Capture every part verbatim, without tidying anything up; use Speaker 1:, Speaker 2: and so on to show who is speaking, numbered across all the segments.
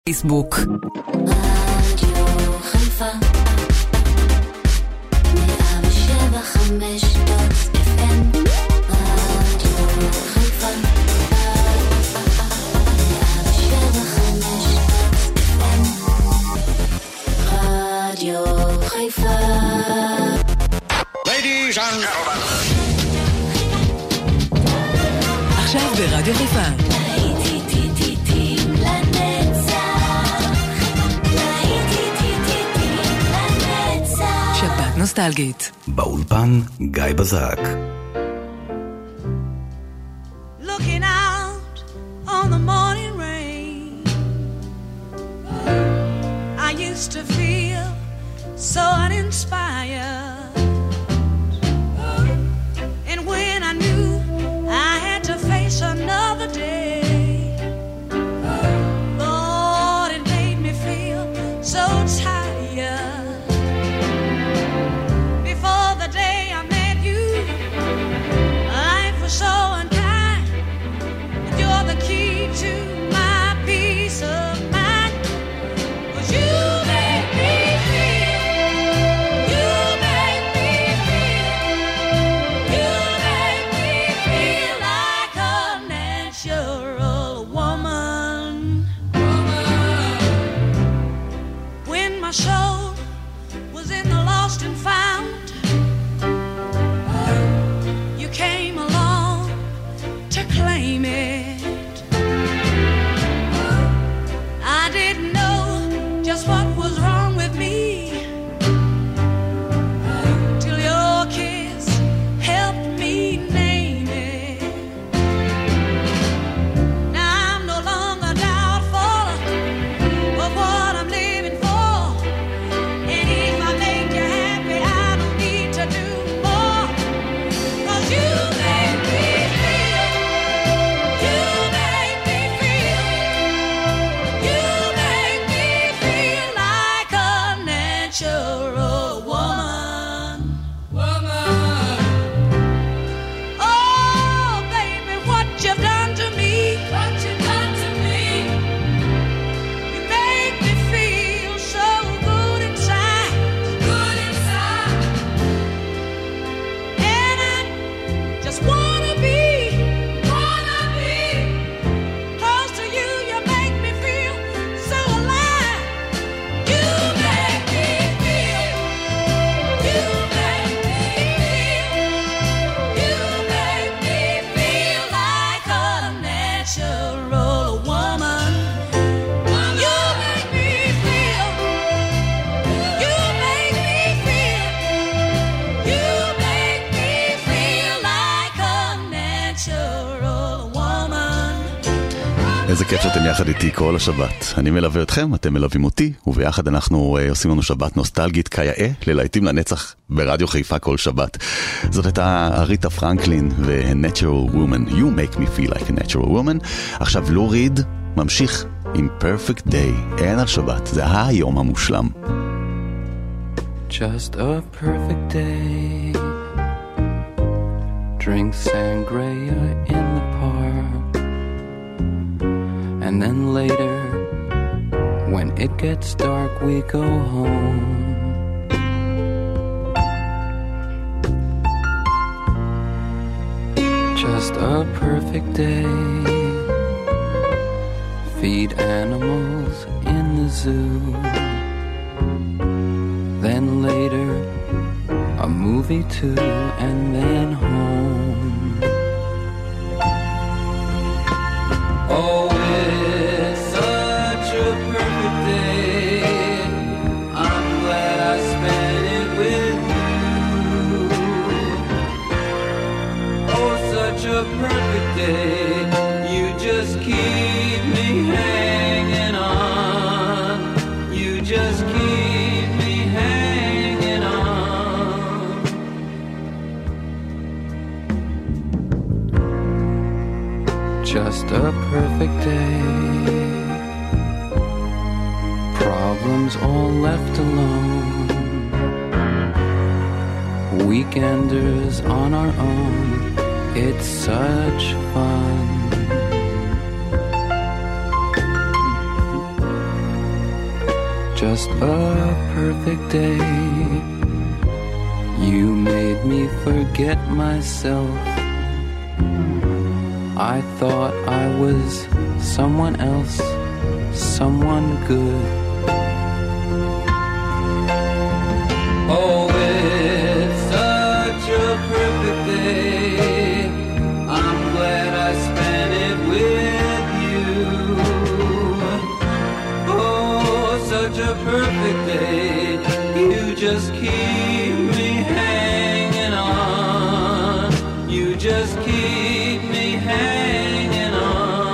Speaker 1: פייסבוק.
Speaker 2: רדיו חיפה מאה ושבע חמש דוט אף אם רדיו חיפה מאה ושבע חמש דוט אף אם רדיו חיפה.
Speaker 3: Ladies and gentlemen.
Speaker 1: עכשיו ברדיו חיפה. שבת נוסטלגית.
Speaker 4: באולפן גיא בזק.
Speaker 5: Looking out on the morning rain, I used to feel so uninspired, and when I knew I had to face another day, Lord, it made me feel so tired. Before the day I met you, life was so unkind, and you're the key to my peace of mind. 'Cause you make me feel, you make me feel, you make me feel like a natural woman. When my soul was in the lost and found, you came along to claim it. I didn't know just what was wrong with me till your kiss helped me name it. Now I'm no longer doubtful of what I'm living for, and if I make you happy, I don't need to do more. 'Cause you make me feel, you make me feel, you make me feel like a natural woman. Woman. Oh, baby, what you've done to me. What you've done to me. You make me feel so good inside. Good inside. And I just wanna be, wanna be close to you. You make me feel so alive. You make me feel, you make me feel, you make me feel like a natural woman. You make me feel, you make me feel, you make me feel like a natural woman.
Speaker 4: איזה כיף שאתם יחד איתי כל השבת. אני מלווה אתכם, אתם מלווים אותי, וביחד אנחנו uh, עושים לנו שבת נוסטלגית כיאה ללהיטים לנצח ברדיו חיפה כל שבת. זאת הייתה אריתה פרנקלין ו-Natural Woman. You make me feel like a natural woman. עכשיו לו ריד ממשיך עם Perfect Day. אין על שבת, זה היום המושלם.
Speaker 6: Just a perfect day. Drink sangria in the park. And then later, when it gets dark, we go home. Just a perfect day. Feed animals in the zoo. Then later, a movie too, and then home. Oh, it's such a perfect day. I'm glad I spent it with you. Oh, such a perfect day. You just keep me hanging on. You just keep me hanging on. Just a perfect day. Problems all left alone. Weekenders on our own. It's such fun. just a perfect day. You made me forget myself. I thought I was someone else, someone good. Oh, it's such a perfect day. I'm glad I spent it with you. Oh, such a perfect day. You just keep me hanging on. You just keep me hanging on.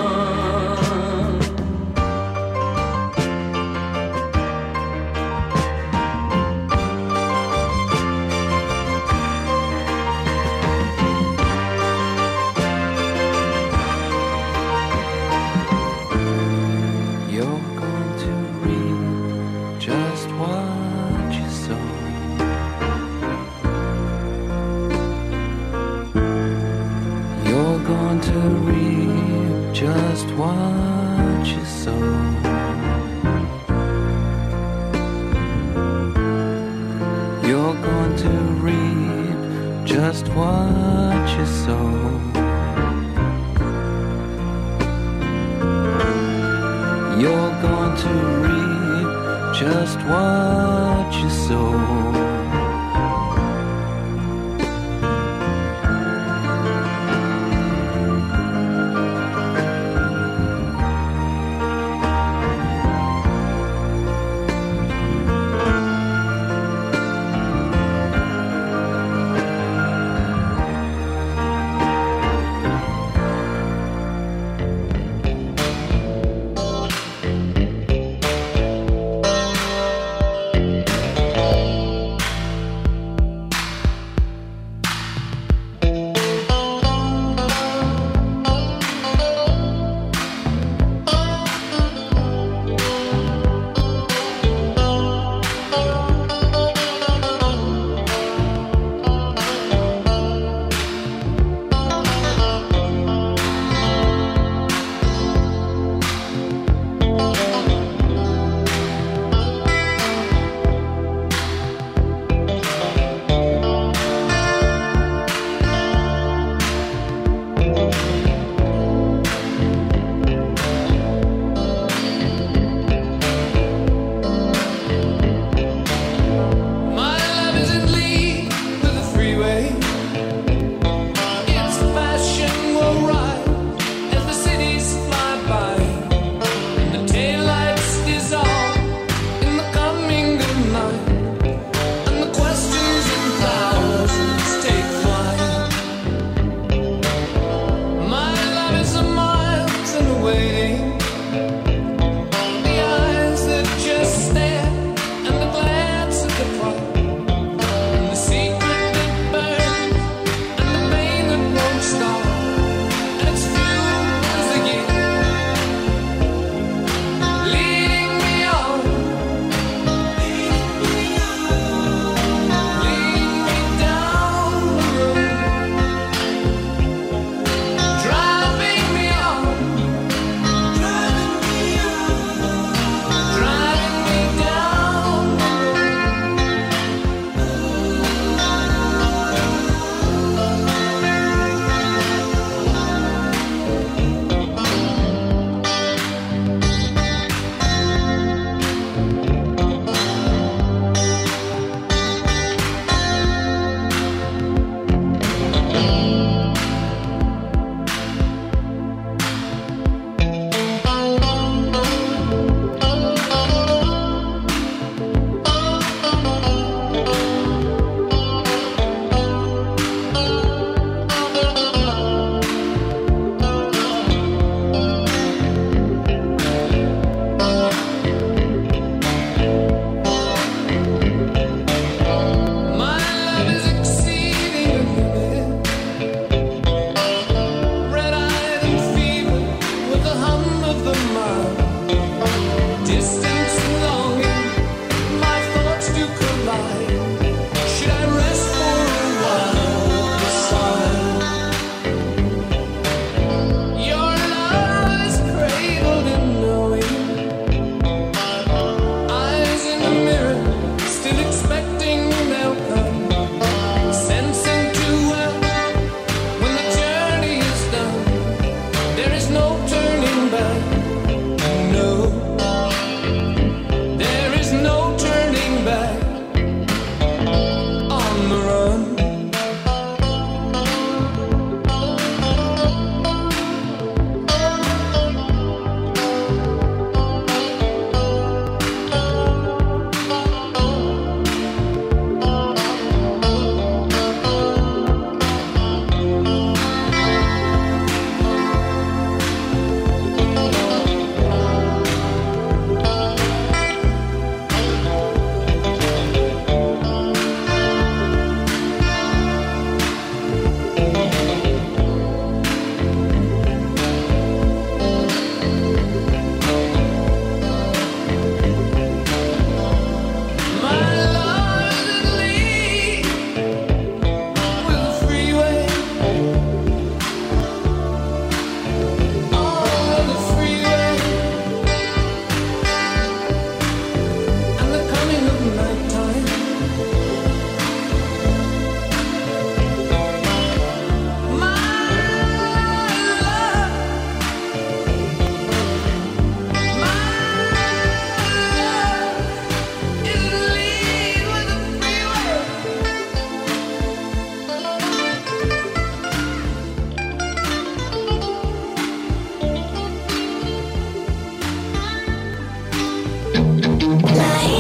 Speaker 6: You're going to reap just what you sow. You're going to reap just what you sow. You're going to reap just what you sow. You're going to reap just what you sow.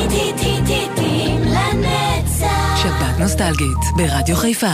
Speaker 2: להיטים לנצח.
Speaker 1: שבת נוסטלגית ברדיו חיפה.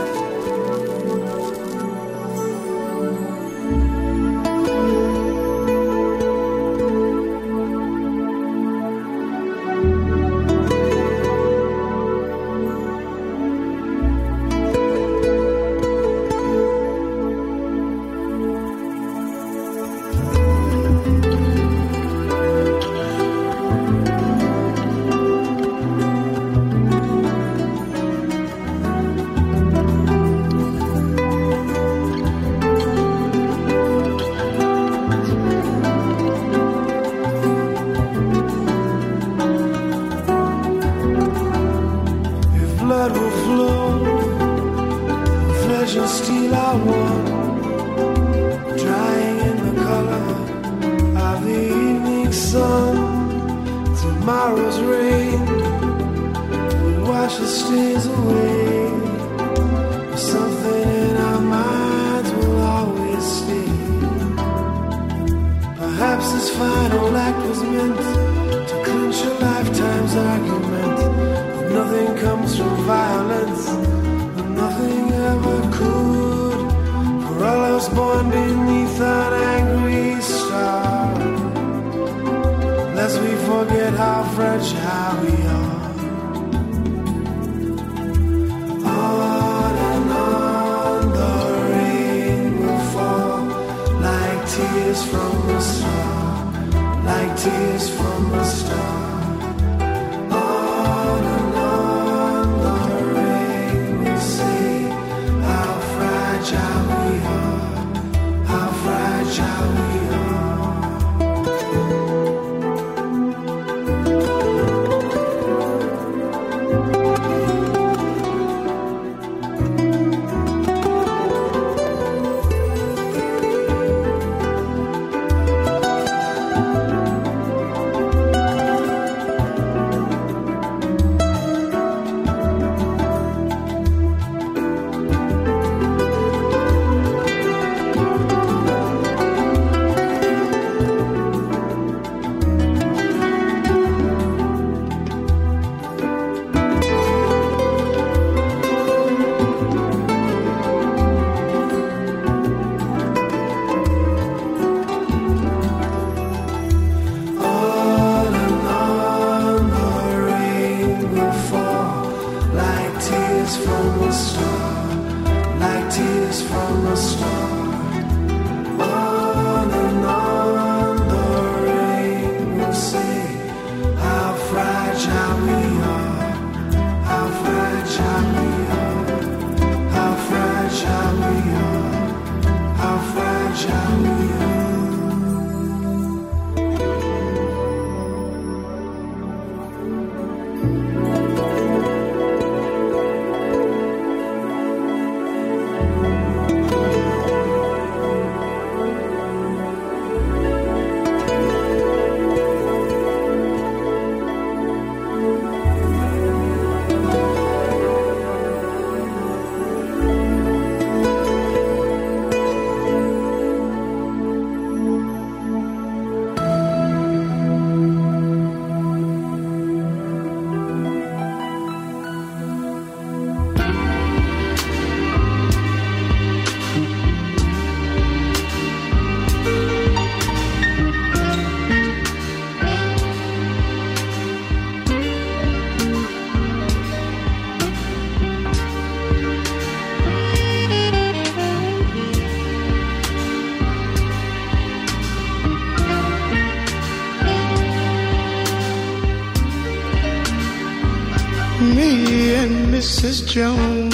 Speaker 3: Me and Missus Jones,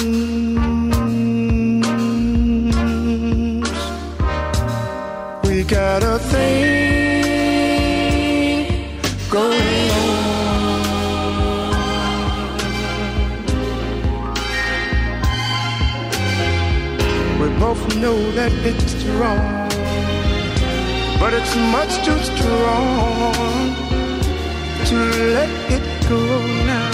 Speaker 3: we got a thing going on. We both know that it's wrong, but it's much too strong to let it go now.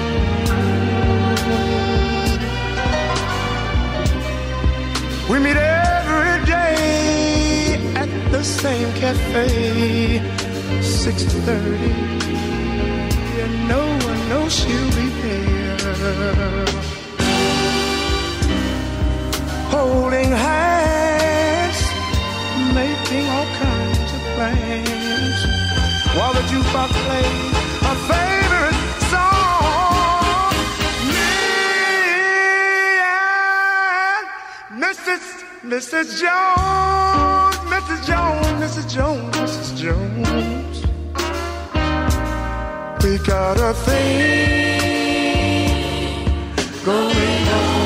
Speaker 3: We meet every day at the same cafe, six thirty, and no one knows she'll be there. Holding hands, making all kinds of plans, while the jukebox plays a favorite song. Me and Missus Missus Jones, Missus Jones, Missus Jones, Missus Jones, we got a thing going on.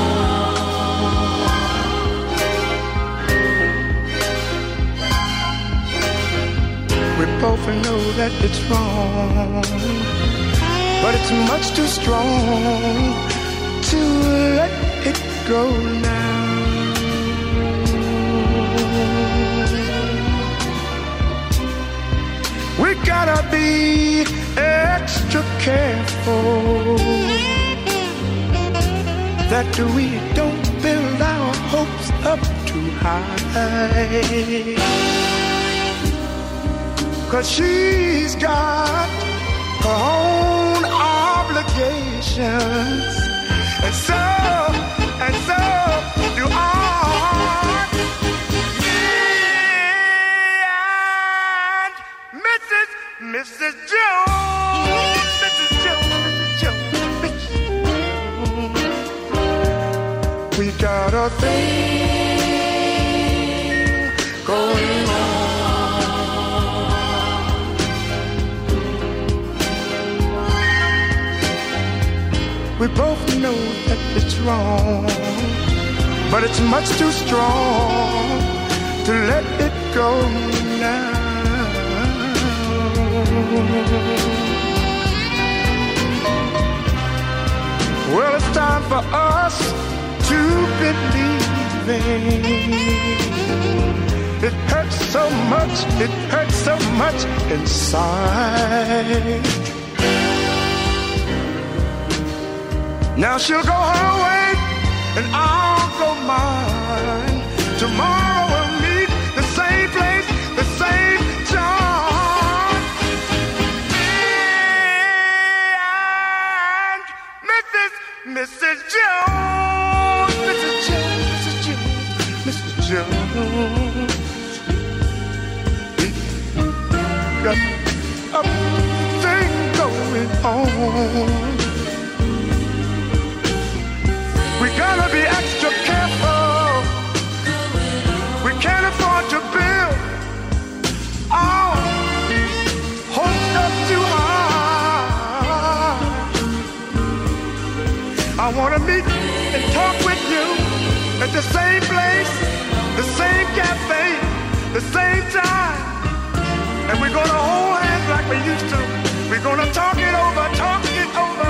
Speaker 3: We both know that it's wrong, but it's much too strong to let it go now. We gotta be extra careful that we don't build our hopes up too high, 'cause she's got her own obligations, and so, and so do I. Missus Jones, Missus Jones, Missus Jones, Missus Jones, we got a thing going on. We both know that it's wrong, but it's much too strong to let it go now. Well, it's time for us to believe it. It hurts so much, it hurts so much inside. Now she'll go her way and I'll go mine. Tomorrow we'll meet the same place, the same time. Missus Jones, Missus Jones, Missus Jones, Missus Jones, we got a thing going on. We gotta be extra careful. We can't afford to build our hopes up too high. I wanna meet and talk with you at the same place, the same cafe, the same time. And we're gonna hold hands like we used to. We're gonna talk it over, talk it over.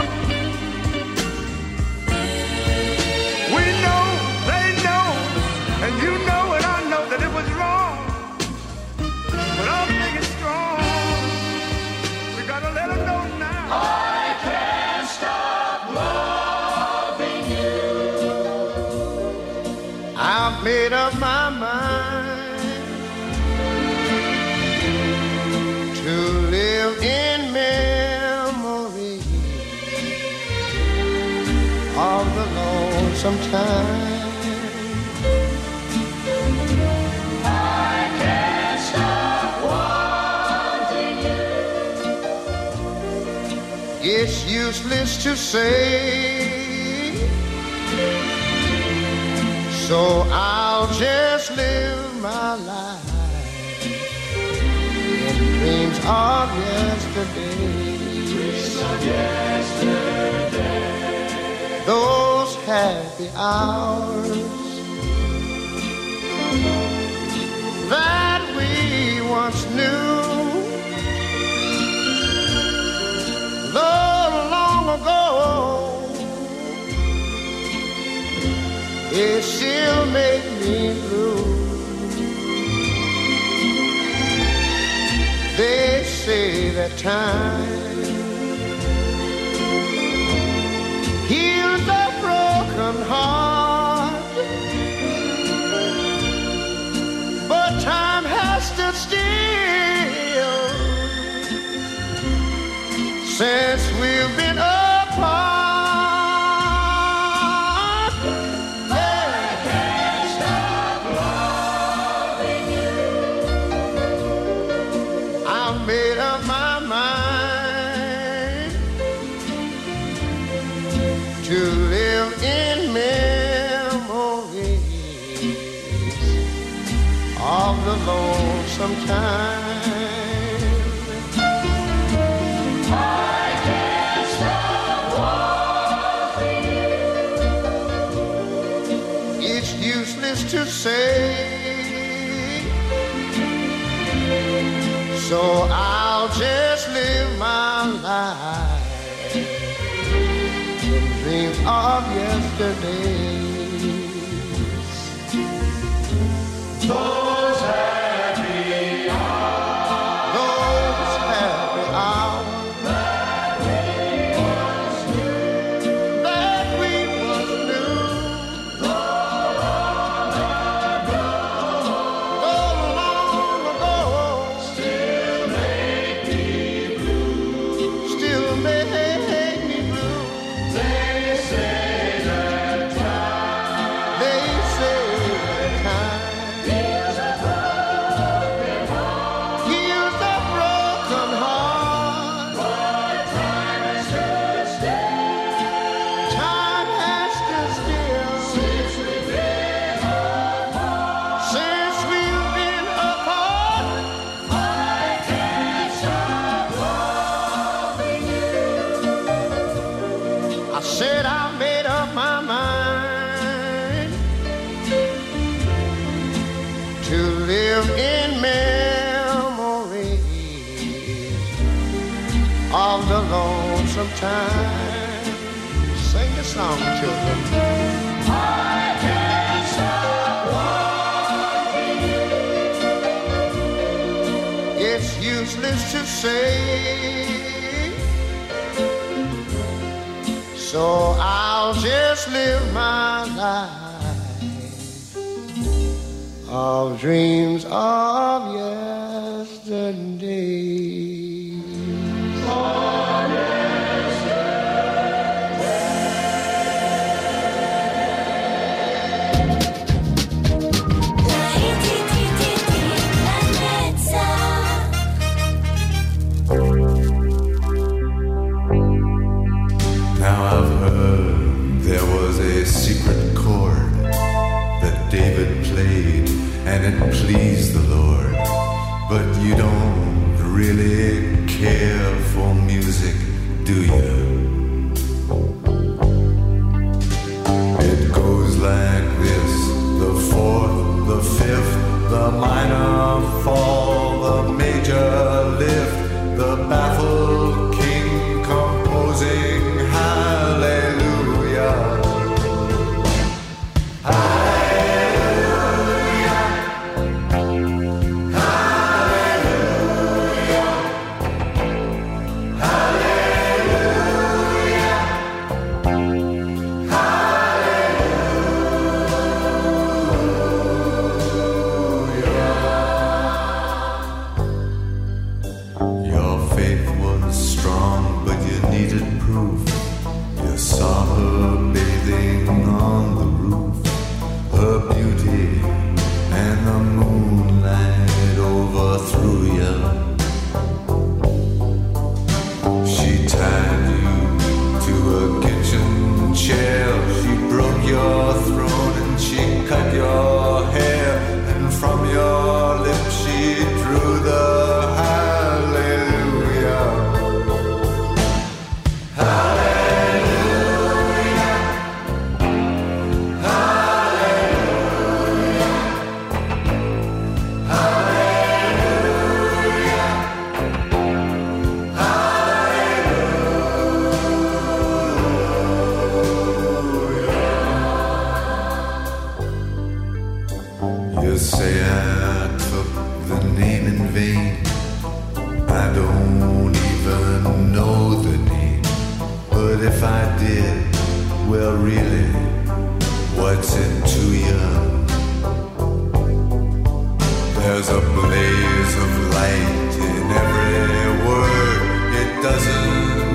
Speaker 3: We know, they know, and you know and I know that it was wrong. But I'm thinking strong. We gotta let them know now. I can't stop loving you. I've made up my mind to live in memory of the lonesome time. I can't stop wanting you. It's useless to say, so I'll just live my life in dreams of yesterday. Dreams of yesterday. Those happy hours that we once knew, though long ago, it still make me blue. They say that time heals a broken heart, but time has stood still since we've been apart. Yeah. I can't stop loving you. I made up my mind to live in memories of the lonesome time. I can't stop wanting you. It's useless to say, so I'll just live my life in dreams of yesterdays. Those happy hours, those happy hours that we once knew, that we once knew. So long ago, so long ago, still make me blue, still make me blue. They say that time, they say that time heals a broken heart, heals a broken heart. But time has stood still, time has stood still since we've been apart, since we've been apart. I can't stop loving you. I said I made up my mind to live in memories of the lonesome time. Sing the song, children. I can't stop wanting you. It's useless to say, so I'll just live my life of dreams of yesterday. Of
Speaker 7: Now I've heard there was a secret chord that David played and it pleased the Lord. But you don't really care for music, do you? It goes like this: the fourth, the fifth, the minor fall, the major lift, the baffled king composing hallelujah. Hallelujah. Hallelujah. Hallelujah. Hallelujah. Your faith was strong, but you needed proof. You saw her bathing on the roof, her beauty and the moonlight overthrew you. She tied you to a kitchen chair, she broke your throne and she cut your hair, and from your lips she drew the hallelujah. Hallelujah. Hallelujah. Hallelujah. Hallelujah. You say I took the name in vain. I don't even know the name. But if I did, well really, what's it to you? There's a blaze of light in every word. It doesn't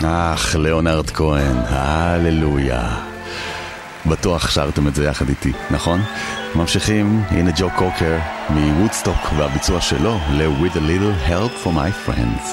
Speaker 4: אך, ליאונרד כהן, הללויה. בטוח שרתם את זה יחד איתי, נכון? ממשיכים, הנה ג'ו קוקר מוודסטוק והביצוע שלו ל-With a Little Help for My Friends.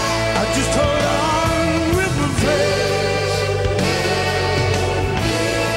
Speaker 8: Just hold on with my friends.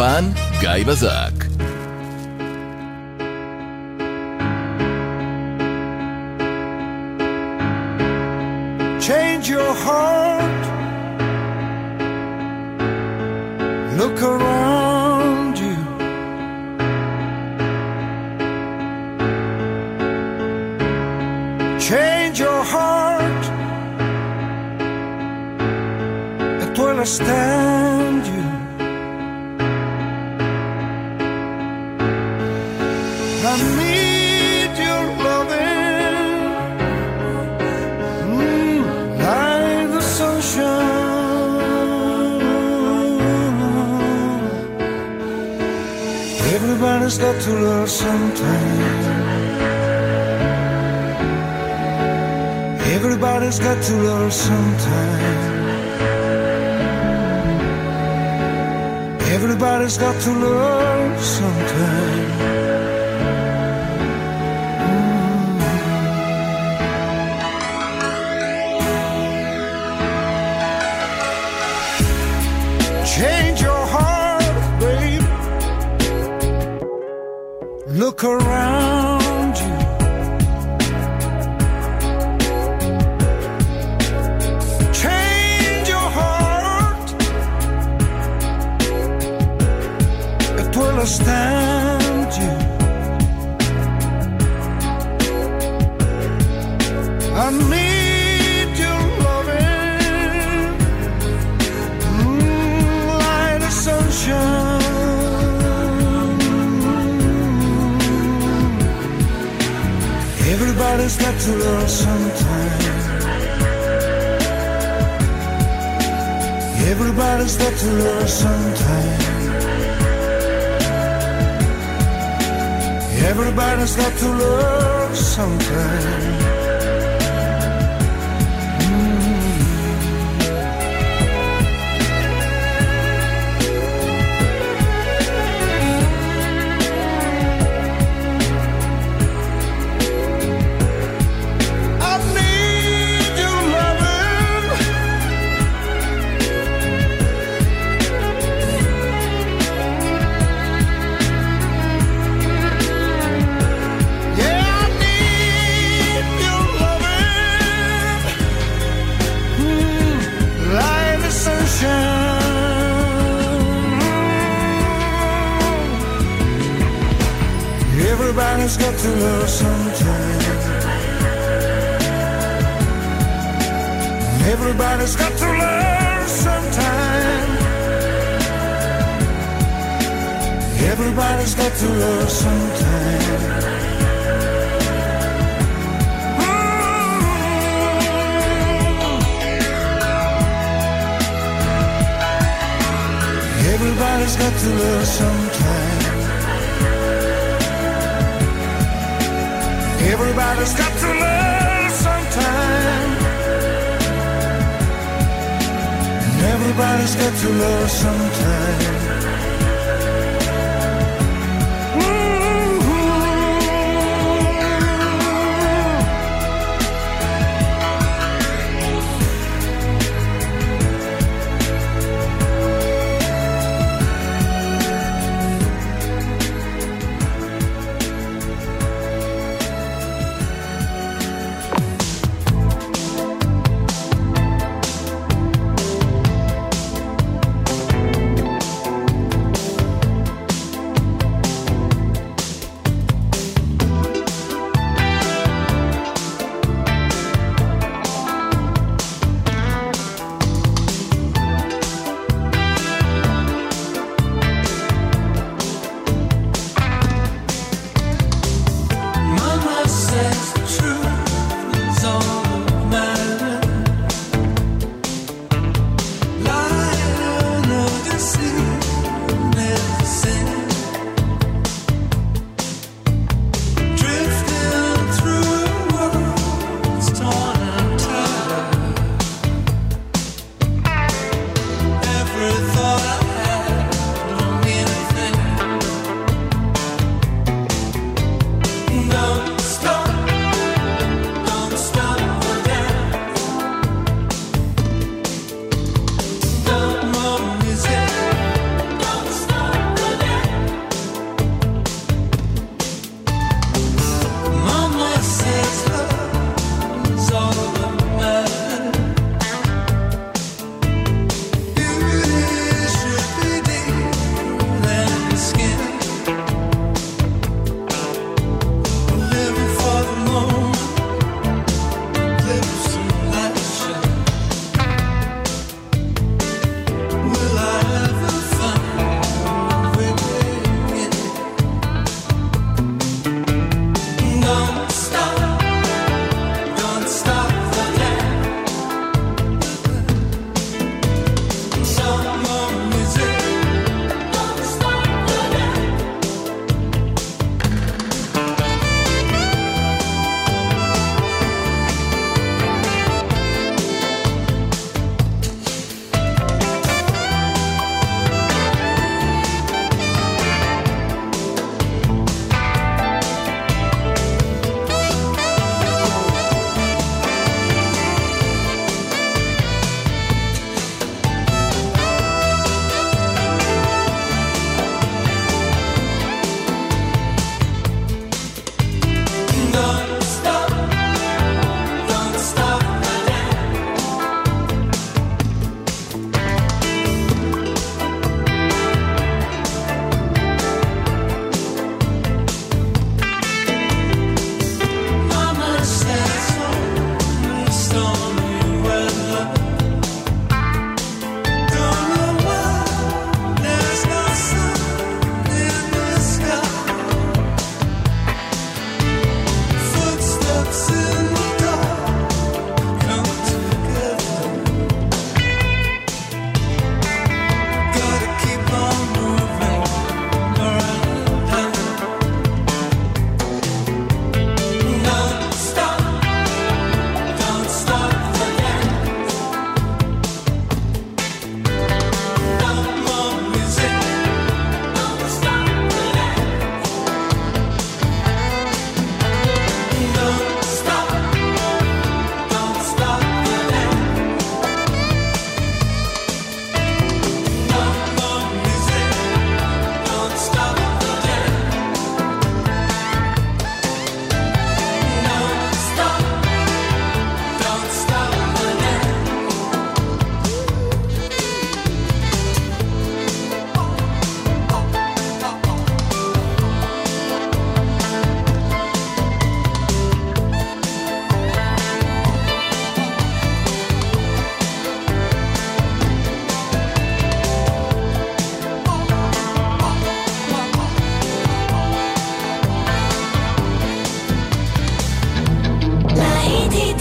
Speaker 8: באולפן גיא בזק.
Speaker 9: Change your heart. Look around you. Change your heart. It will stand you. I need your loving, mm, like the sunshine. Everybody's got to love sometime. Everybody's got to love sometime. Everybody's got to love sometime. Change your heart, babe. Look around you. Change your heart. It will stand you. I need your loving, moonlight and sunshine. Everybody's got to love sometime. Everybody's got to love sometime. Everybody's got to love sometime. Everybody's got to love sometime. Everybody's got to love sometime. Everybody's got to love sometime. Everybody's got to love sometime. Everybody's got to love sometime. Everybody's got to love sometime.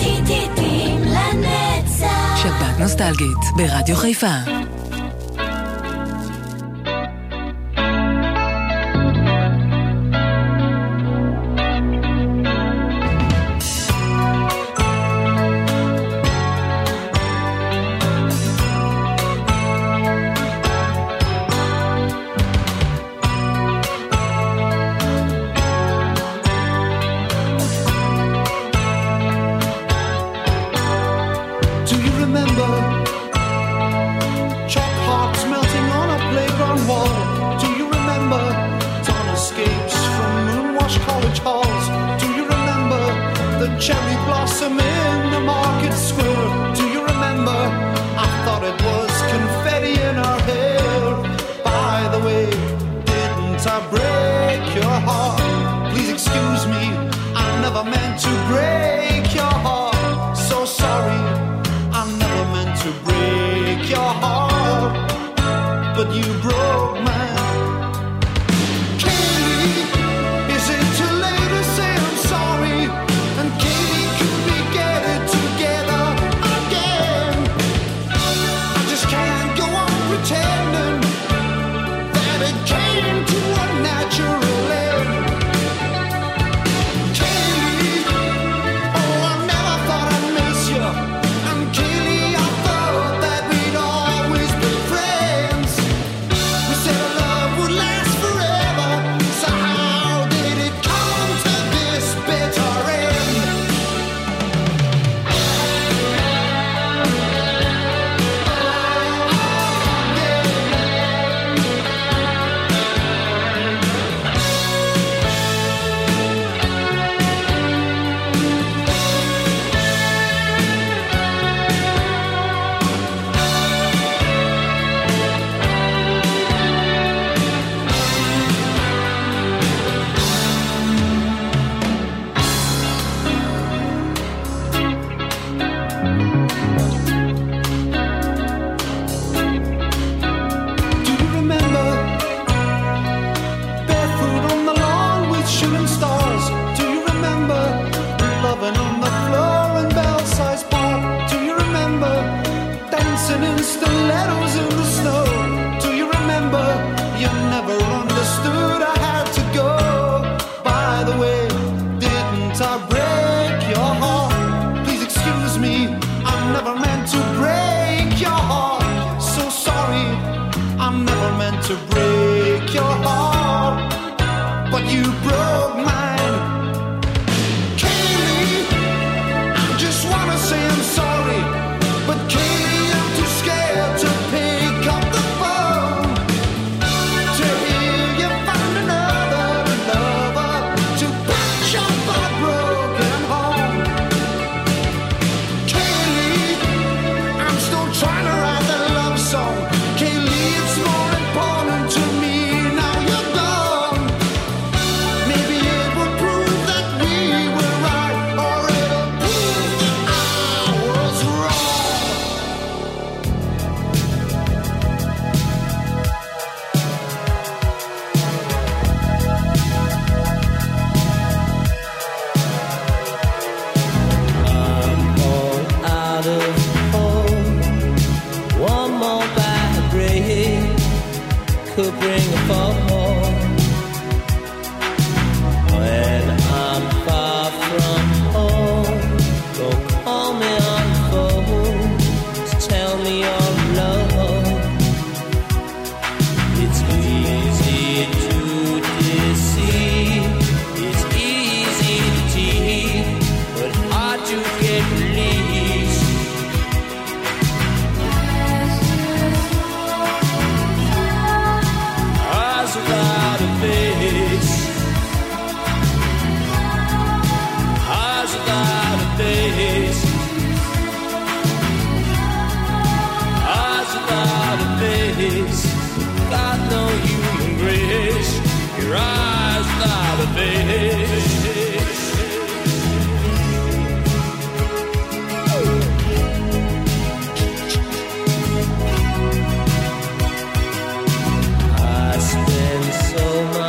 Speaker 2: ציטוטים לנצח.
Speaker 1: שבת נוסטלגית ברדיו חיפה.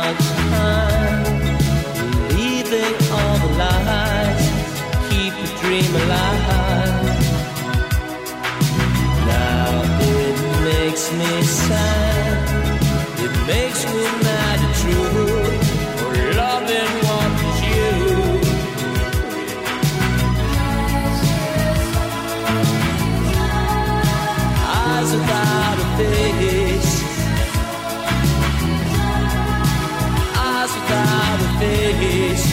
Speaker 8: Keep a dream. dream alive. Now it makes me sad, it makes me mad and true, for loving what is you. Eyes without a face, eyes without a face,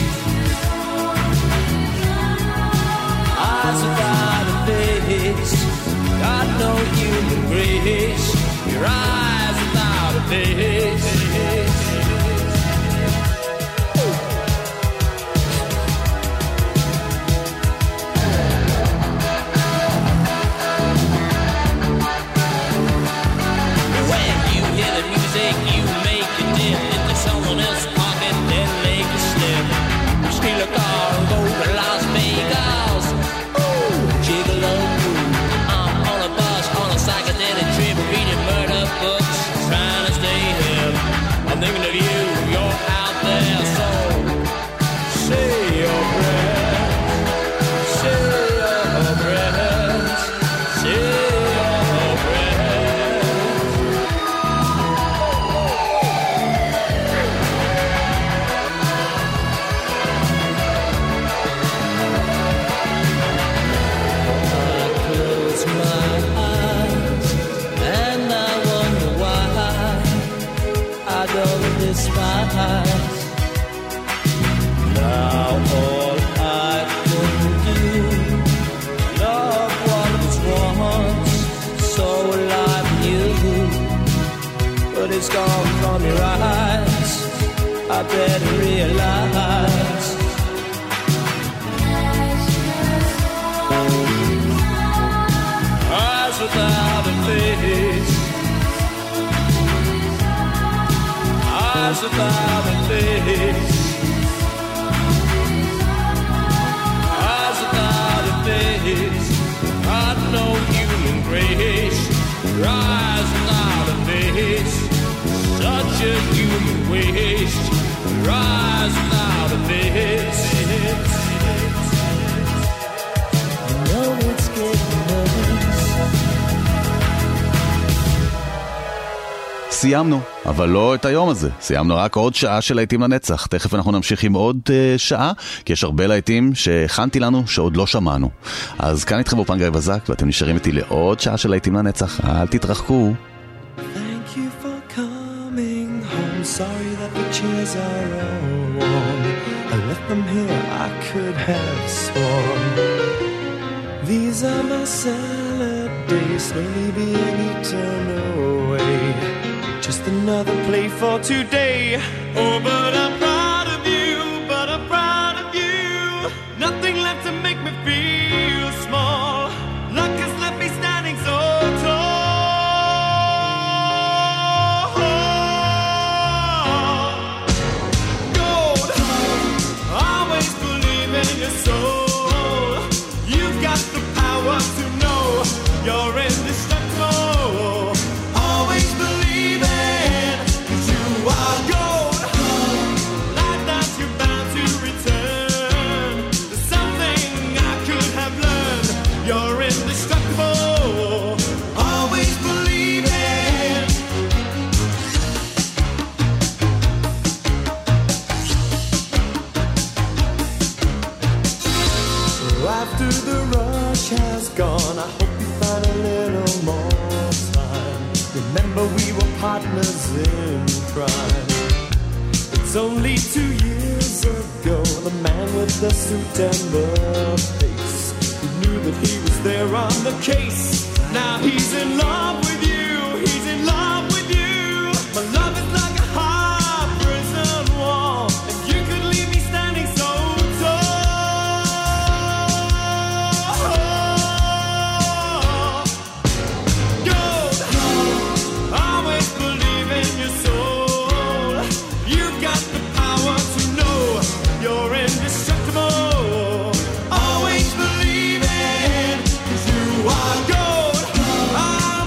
Speaker 8: eyes without a face. Got no human grace. Your eyes without a face. When you hear the music, you make it dip into someone else's pocket, then make it slip. Steal a car and go to Las Vegas. Ooh, gigolo. I'm on a bus, on a psychedelic trip, reading murder books, trying to stay hip. I'm thinking of you, you're out there, so say your prayers, say your prayers, say your prayers. I close my eyes and I wonder why I don't despise. Now all I can do, love what was once so alive in you, but it's gone from your eyes. I better realize. Eyes without a face, eyes without a face, eyes without a face. Got no human grace. Your eyes without a face, such a human waste. Your eyes without a face. I know it's getting nervous.
Speaker 4: סיימנו, אבל לא את היום הזה. סיימנו רק עוד שעה של להיטים לנצח. תכף אנחנו נמשיך עם עוד uh, שעה, כי יש הרבה להיטים שהכנתי לנו שעוד לא שמענו. אז כאן איתכם באופן גיא בזק, ואתם נשארים איתי לעוד שעה של להיטים לנצח. אל תתרחקו.
Speaker 9: Thank you for coming home. Sorry that the chairs are all warm. I left them here, I could have sworn. These are my salad days, slowly being eaten away. Just another play for today. Oh, but I'm proud of you, but I'm proud of you. Nothing left to make me feel small. Luck has left me standing so tall. Gold, always believe in your soul. You've got the power to know you're indestructible. Always believe it, 'cause you are gold. Like that you're bound to return. There's something I could have learned. You're indestructible. Always believe it. After the rush has gone, I hope you find a little more time. Remember we were partners in crime. It's only two years ago, the man with the suit and the face, who knew that he was there on the case. Now he's in love with you, he's in love with you. My love is like a high prison wall, and you could leave me standing so tall. Gold, always believe in your soul. You've got the power to know you're indestructible. Always believe it, 'cause you are gold.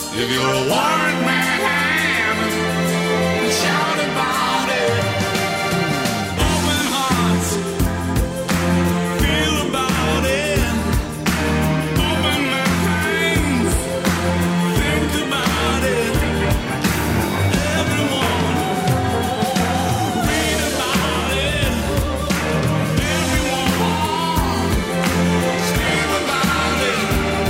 Speaker 10: If you'll warm my hand and shout about it. Open hearts, feel about it. Open my hands, think about it. Everyone, read about it. Everyone, scream about it.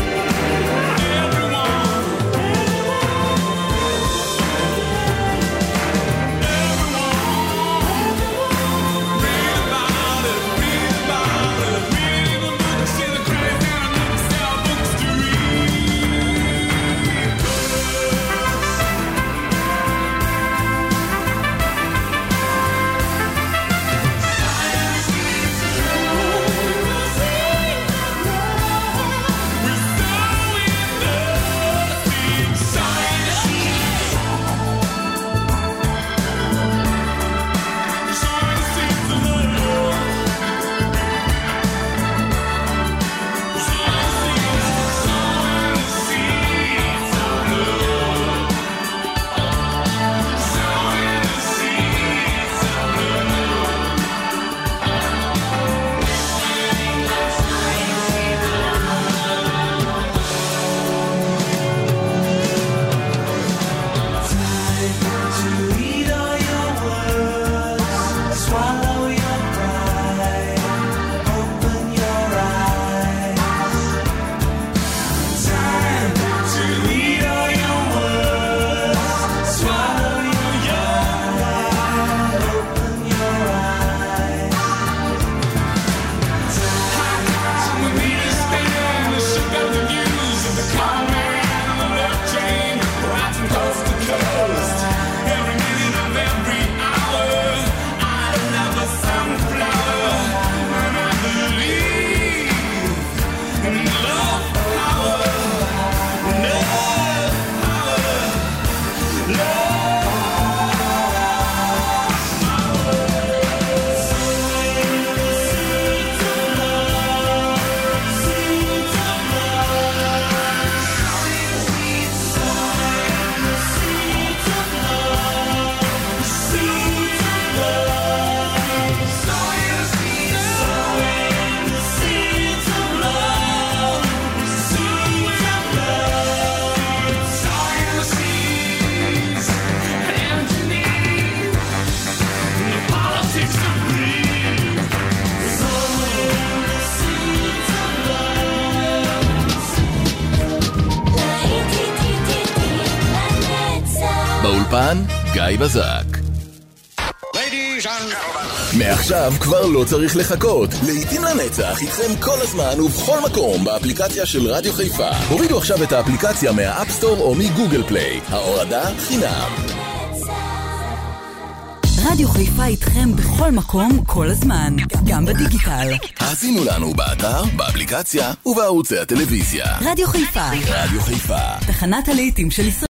Speaker 11: באולפן גיא בזק. מעכשיו כבר לא צריך לחכות. לעתים לנצח איתכם כל הזמן ובכל מקום באפליקציה של רדיו חיפה. הורידו עכשיו את האפליקציה מהאפסטור או מגוגל פליי. ההורדה חינם.
Speaker 1: רדיו חיפה איתכם בכל מקום, כל הזמן, גם בדיגיטל.
Speaker 11: האזינו לנו באתר, באפליקציה ובערוצי הטלוויזיה.
Speaker 1: רדיו חיפה.
Speaker 11: רדיו חיפה.
Speaker 1: תחנת הלהיטים של ישראל.